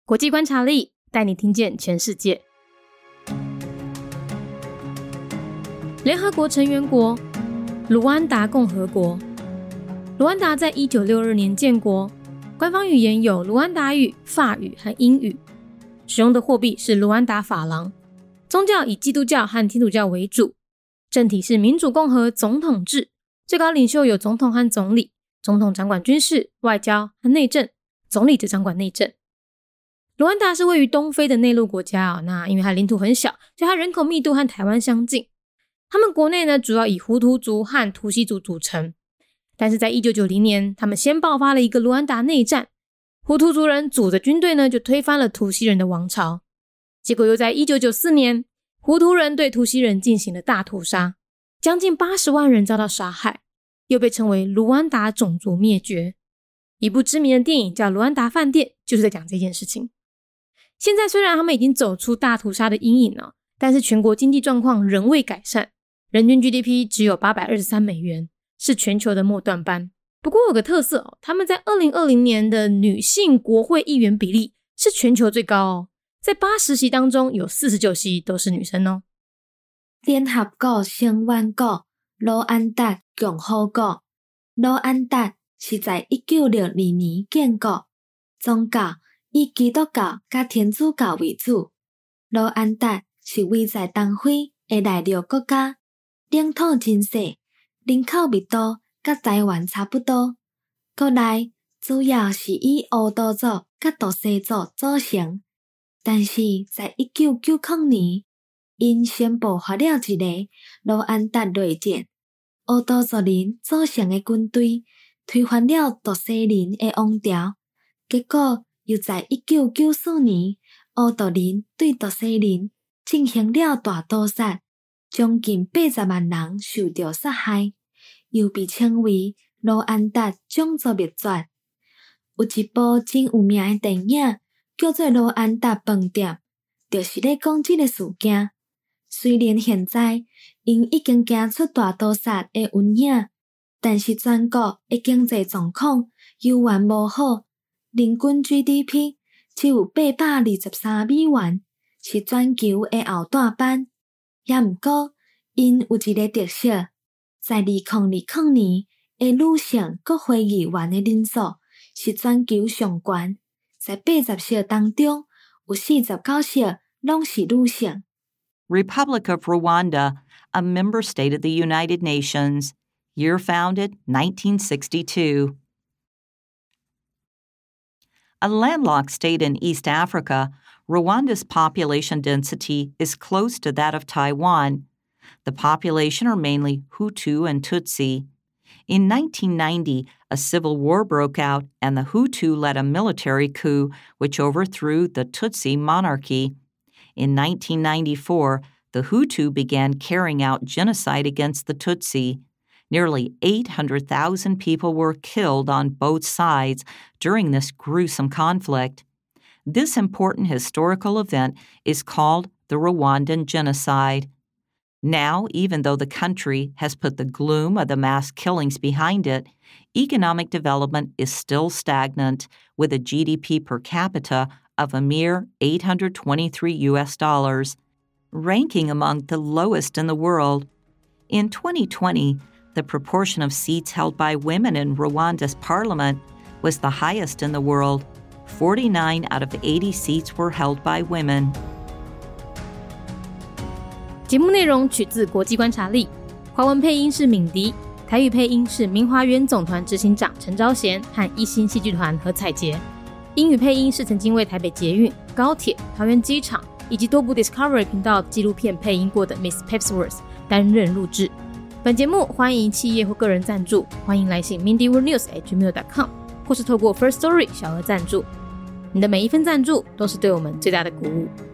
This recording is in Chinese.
国际观察力带你听见全世界。联合国成员国卢安达共和国。卢安达在1962年建国，官方语言有卢安达语、法语和英语，使用的货币是卢安达法郎，宗教以基督教和天主教为主，政体是民主共和总统制，最高领袖有总统和总理，总统掌管军事、外交和内政，总理则掌管内政。卢安达是位于东非的内陆国家那因为它领土很小，所以它人口密度和台湾相近。他们国内呢主要以胡图族和图西族组成，但是在1990年他们先爆发了一个卢安达内战，胡图族人组的军队呢就推翻了图西人的王朝，结果又在1994年胡图人对图西人进行了大屠杀，将近80万人遭到杀害，又被称为卢安达种族灭绝。一部知名的电影叫《卢安达饭店》，就是在讲这件事情。现在虽然他们已经走出大屠杀的阴影了，但是全国经济状况仍未改善，人均 GDP 只有823美元，是全球的末段班。不过有个特色他们在2020年的女性国会议员比例是全球最高在80席当中有49席都是女生联合国成员国卢安达共和国。卢安达是在1962年建国，宗教以基督教甲天主教为主。卢安达是位在东非的内陆国家，领土真小，人口密度甲台湾差不多。国内主要是以乌图族甲图西族组成，但是在1990年，因宣布发了一个卢安达内战，乌图族人组成的军队推翻了图西人的王朝，结果又在1994年，乌图人对图西人进行了大屠杀，将近80万人受到杀害，又被称为卢安达种族灭绝。有一部真有名的电影叫做《卢安达饭店》，就是咧讲这个事件。虽然现在因已经行出大屠杀的阴影，但是全国的经济状况犹原无好，人均 GDP 只有823美元，是全球的后段班。也毋过，因有一个特色，在2020年的女性国会议员的人数是全球上悬，在80席当中有49席拢是女性。 Republic of Rwanda, a member state of the United Nations. Year founded 1962. A landlocked state in East Africa, Rwanda's population density is close to that of Taiwan. The population are mainly Hutu and Tutsi. In 1990, a civil war broke out and the Hutu led a military coup which overthrew the Tutsi monarchy. In 1994, the Hutu began carrying out genocide against the Tutsi. Nearly 800,000 people were killed on both sides during this gruesome conflict. This important historical event is called the Rwandan Genocide. Now, even though the country has put the gloom of the mass killings behind it, economic development is still stagnant, with a GDP per capita of a mere $823, ranking among the lowest in the world. In 2020, the proportion of seats held by women in Rwanda's parliament was the highest in the world. 49 out of 80 seats were held by women. 节目内容取自国际观察力，华文配音是敏迪，台语配音是明华园总团执行长陈昭贤和一心戏剧团何彩杰，英语配音是曾经为台北捷运、高铁、桃园机场以及多部 Discovery 频道纪录片配音过的 Miss Pepsworth 担任录制。本节目欢迎企业或个人赞助，欢迎来信 mindyworldnews@gmail.com 或是透过 First Story 小额赞助。你的每一份赞助都是对我们最大的鼓舞。